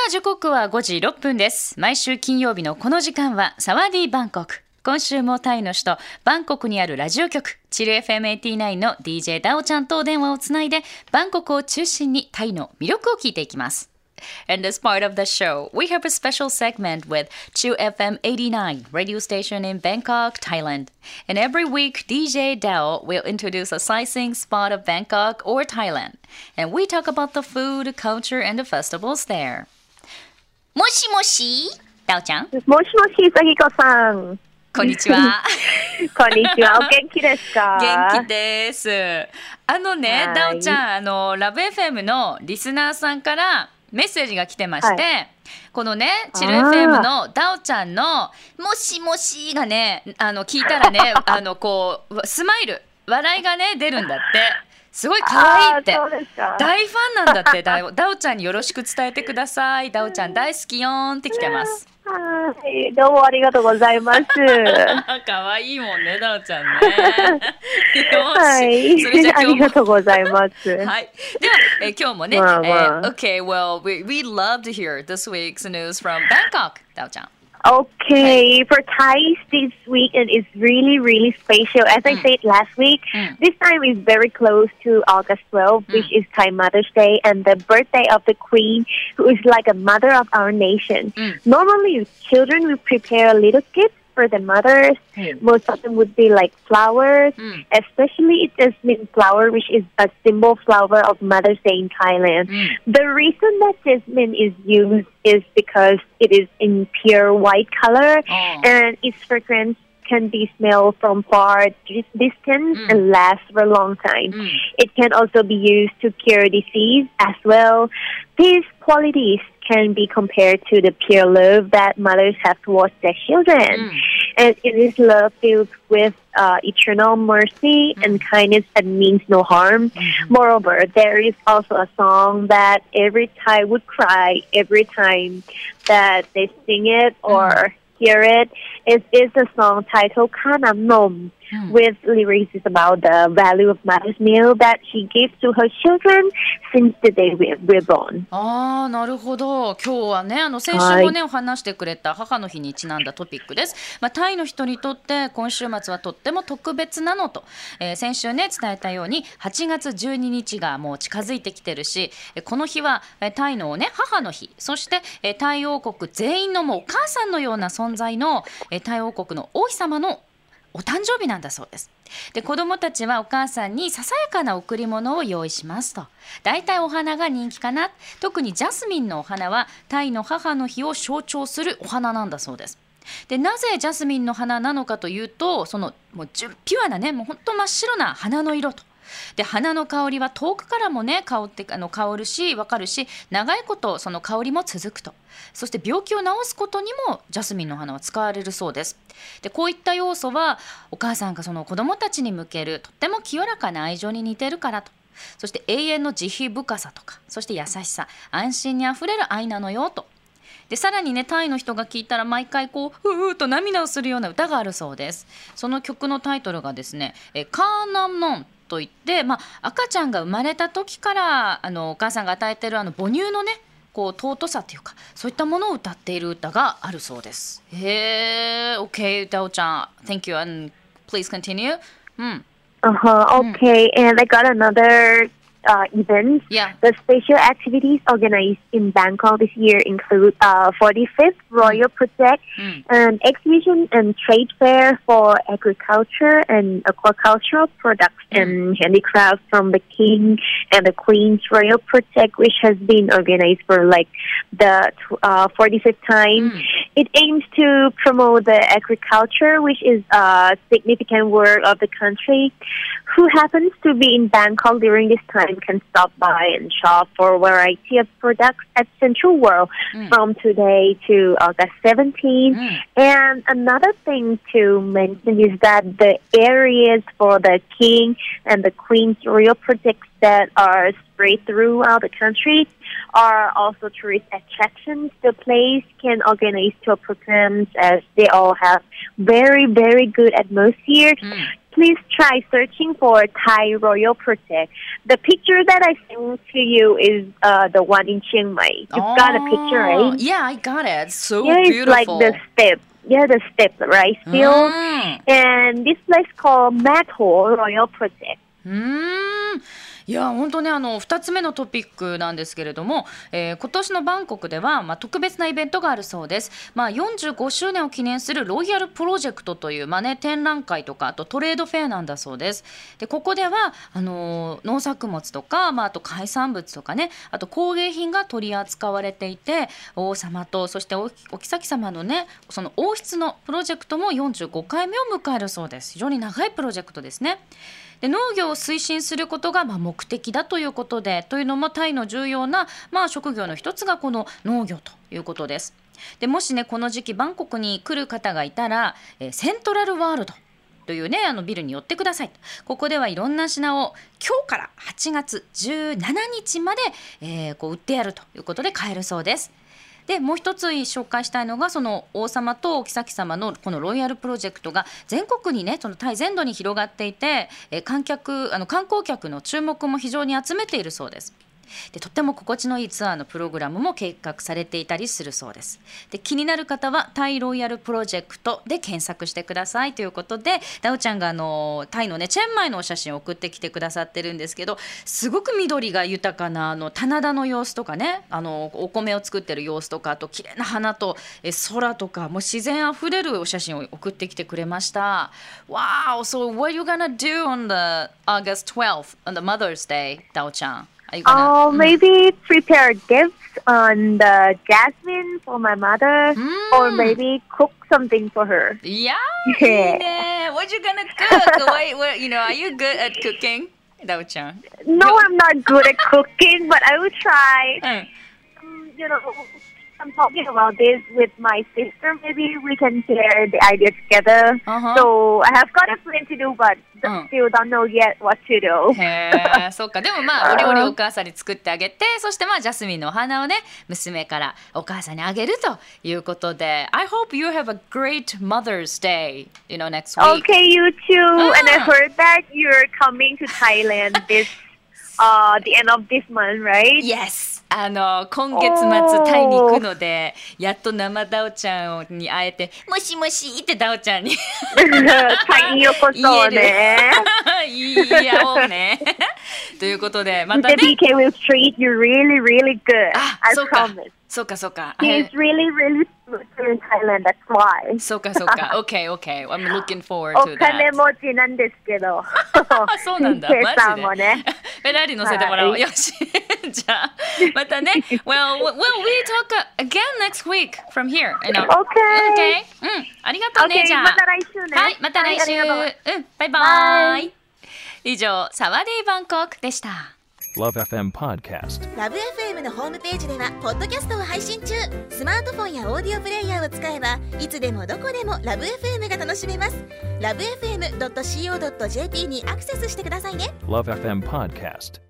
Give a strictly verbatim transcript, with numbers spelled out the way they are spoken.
あ時刻はごじろっぷんです。毎週金曜日のこの時間はサワディバンコク。今週もタイの首都バンコクにあるラジオ局チル エフエムはちじゅうきゅう の ディージェー ダオちゃんとお電話をつないでバンコクを中心にタイの魅力を聞いていきます。In this part of the show, we have a special segment with Chill エフエムはちじゅうきゅう radio station in Bangkok, Thailand. And every week, ディージェー Dao will introduce a sightseeing spot of Bangkok or Thailand. And we talk about the food, culture, and the festivals there. もしもし、Dao ちゃん。 もしもし、さぎこさん。 こんにちは。 こんにちは。お元気ですか？ 元気です。あのね、ダオちゃん、あのラブ エフエム のリスナーさんからメッセージが来てまして、はい、このねチル エフエム のダオちゃんのもしもしがね、あの聞いたらねあのこうスマイル笑いがね出るんだって。すごい可愛いって大ファンなんだって。ダオ、ダオちゃんによろしく伝えてください。ダオちゃん大好きよーんって来てます。 はい、どうもありがとうございます。 可愛いもんね、ダオちゃんね。よし、 はい、それじゃあ今日もありがとうございます。はい、 では、え今日もね、まあまあ、えー、Okay, well, we we love to hear this week's news from Bangkok, ダオちゃん。 Okay, for Thais this weekend is really, really special. As I mm. said last week, mm. this time is very close to August twelfth, mm. which is Thai Mother's Day and the birthday of the Queen, who is like a mother of our nation. Mm. Normally, children will prepare little gifts for the mothers. Mm. Most of them would be like flowers, mm. especially jasmine flower, which is a symbol flower of Mother's Day in Thailand. Mm. The reason that jasmine is used is because it is in pure white color, oh. and its fragrance can be smelled from far distance mm. and last for a long time. Mm. It can also be used to cure disease as well. These qualities can be compared to the pure love that mothers have towards their children. Mm. And it is love filled with uh, eternal mercy mm. and kindness that means no harm. Mm-hmm. Moreover, there is also a song that every Thai would cry every time that they sing it or mm. hear it. It is a song titled Khanam Nom, mm. with lyrics about the value of mother's meal that she gives to her children since the day we were born. ああ、なるほど。今日はね、あの先週もね、お話してくれた母の日にちなんだトピックです。まあ、タイの人にとって今週末はとっても特別なのと、えー、先週ね伝えたようにはちがつじゅうににちがもう近づいてきてるし、この日はタイのね母の日、そしてタイ王国全員のもうお母さんのような存在のタイ王国の王妃様のお誕生日なんだそうです。で、子どもたちはお母さんにささやかな贈り物を用意しますと。だいたいお花が人気かな。特にジャスミンのお花はタイの母の日を象徴するお花なんだそうです。で、なぜジャスミンの花なのかというと、そのもうピュアなね、もう本当真っ白な花の色と。で、花の香りは遠くからもね香ってあの香るし分かるし、長いことその香りも続くと。そして病気を治すことにもジャスミンの花は使われるそうです。で、こういった要素はお母さんがその子どもたちに向けるとっても清らかな愛情に似てるからと。そして永遠の慈悲深さとか、そして優しさ、安心にあふれる愛なのよと。で、さらにねタイの人が聞いたら毎回こうふーっと涙をするような歌があるそうです。その曲のタイトルがですね、えカーナムノンといって、まあ、赤ちゃんが生まれた時からあのお母さんが与えているあの母乳のねこう尊さというか、そういったものを歌っている歌があるそうです。へー、OK、ダオちゃん、Thank you and please continue. うん。 Uh-huh, okay, mm. and I got another uh, event. Yeah. The special activities organized in Bangkok this year include uh, forty-fifth Royal Project, mm. an exhibition and trade fair for agriculture and aquacultural products mm. and handicrafts from the King and the Queen's Royal Project, which has been organized for like the uh, forty-fifth time. Mm. It aims to promote the agriculture, which is a significant work of the country. Who happens to be in Bangkok during this time can stop by and shop for a variety of products at Central World mm. from today to August seventeenth. Mm. And another thing to mention is that the areas for the King and the Queen's Royal Projects that are spread throughout the country are also tourist attractions. The place can organize tour programs as they all have very, very good atmosphere. Mm. please try searching for Thai Royal Protect. The picture that I sent to you is uh, the one in Chiang Mai. You've oh, got a picture, right? Yeah, I got it. So yeah, beautiful. It's like the step. Yeah, the step rice field. Mm. And this place called Matho Royal Protect. Mm. いや本当ねあのふたつめのトピックなんですけれども、えー、今年のバンコクでは、まあ、特別なイベントがあるそうです、まあ、よんじゅうごしゅうねんを記念するロイヤルプロジェクトという、まあね、展覧会とかあとトレードフェアなんだそうです。でここではあのー、農作物とか、まあ、あと海産物とかねあと工芸品が取り扱われていて王様とそして お, お妃様のねその王室のプロジェクトもよんじゅうごかいめを迎えるそうです。非常に長いプロジェクトですね。で農業を推進することがまあ目的だということでというのもタイの重要なまあ職業の一つがこの農業ということです。でもしねこの時期バンコクに来る方がいたら、えー、セントラルワールドというねあのビルに寄ってください。ここではいろんな品を今日からはちがつじゅうしちにちまで、えー、こう売ってやるということで買えるそうです。でもう一つ紹介したいのがその王様とお妃様のこのロイヤルプロジェクトが全国にねそのタイ全土に広がっていて、えー、観客あの観光客の注目も非常に集めているそうです。でとっても心地のいいツアーのプログラムも計画されていたりするそうです。で気になる方はタイロイヤルプロジェクトで検索してくださいということでダオちゃんがあのタイのねチェンマイのお写真を送ってきてくださってるんですけどすごく緑が豊かなあの棚田の様子とかねあのお米を作ってる様子とかあと綺麗な花とえ空とかもう自然あふれるお写真を送ってきてくれました。 Wow, so what are you gonna do on the August twelfth on the Mother's Day, ダオちゃん Oh, maybe prepare gifts on the jasmine for my mother, mm. or maybe cook something for her. Yeah, yeah. What you gonna cook? Wait, what, you know, are you good at cooking, Dao-chan? No, no, I'm not good at cooking, but I will try. Mm. Um, you know, I'm talking about this with my sister. Maybe we can share the idea together. Uh-huh. So I have got a plan to do, but still don't know yet what to do. へー、そうか。でもまあお料理をお母さんに作ってあげて、そしてまあジャスミンのお花をね娘からお母さんにあげるということで、I hope you have a great Mother's Day, you know, next week. Okay, you too. And I heard that you're coming to Thailand this uh the end of this month, right? Yes. あの今月末タイに行くのでやっと生ダオちゃんに会えてもしもしってダオちゃんにタイによこそねいやおうねということでまたね The ビーケー will treat you really really good. あ、 I そうか promise. そうかそうか He's really really good in Thailand, that's why. そうかそうか OK OK I'm looking forward to that. お金持ちなんですけどそうなんだマジで、ね、フェラーリ乗せてもらおう、はい、よしじゃあまたね well, well, we talk again next week from here. Okay. Okay. うんありがとうね、 okay, じゃあまた来週ね。 はいまた来週、はい、うんバイバイ。以上サワディーバンコクでした。 Love エフエム Podcast。 ラブ エフエム のホームページではポッドキャストを配信中。スマートフォンやオーディオプレイヤーを使えばいつでもどこでもラブ エフエム が楽しめます。ラブ エフエムドットシーオードットジェーピー にアクセスしてくださいね。 Love エフエム Podcast。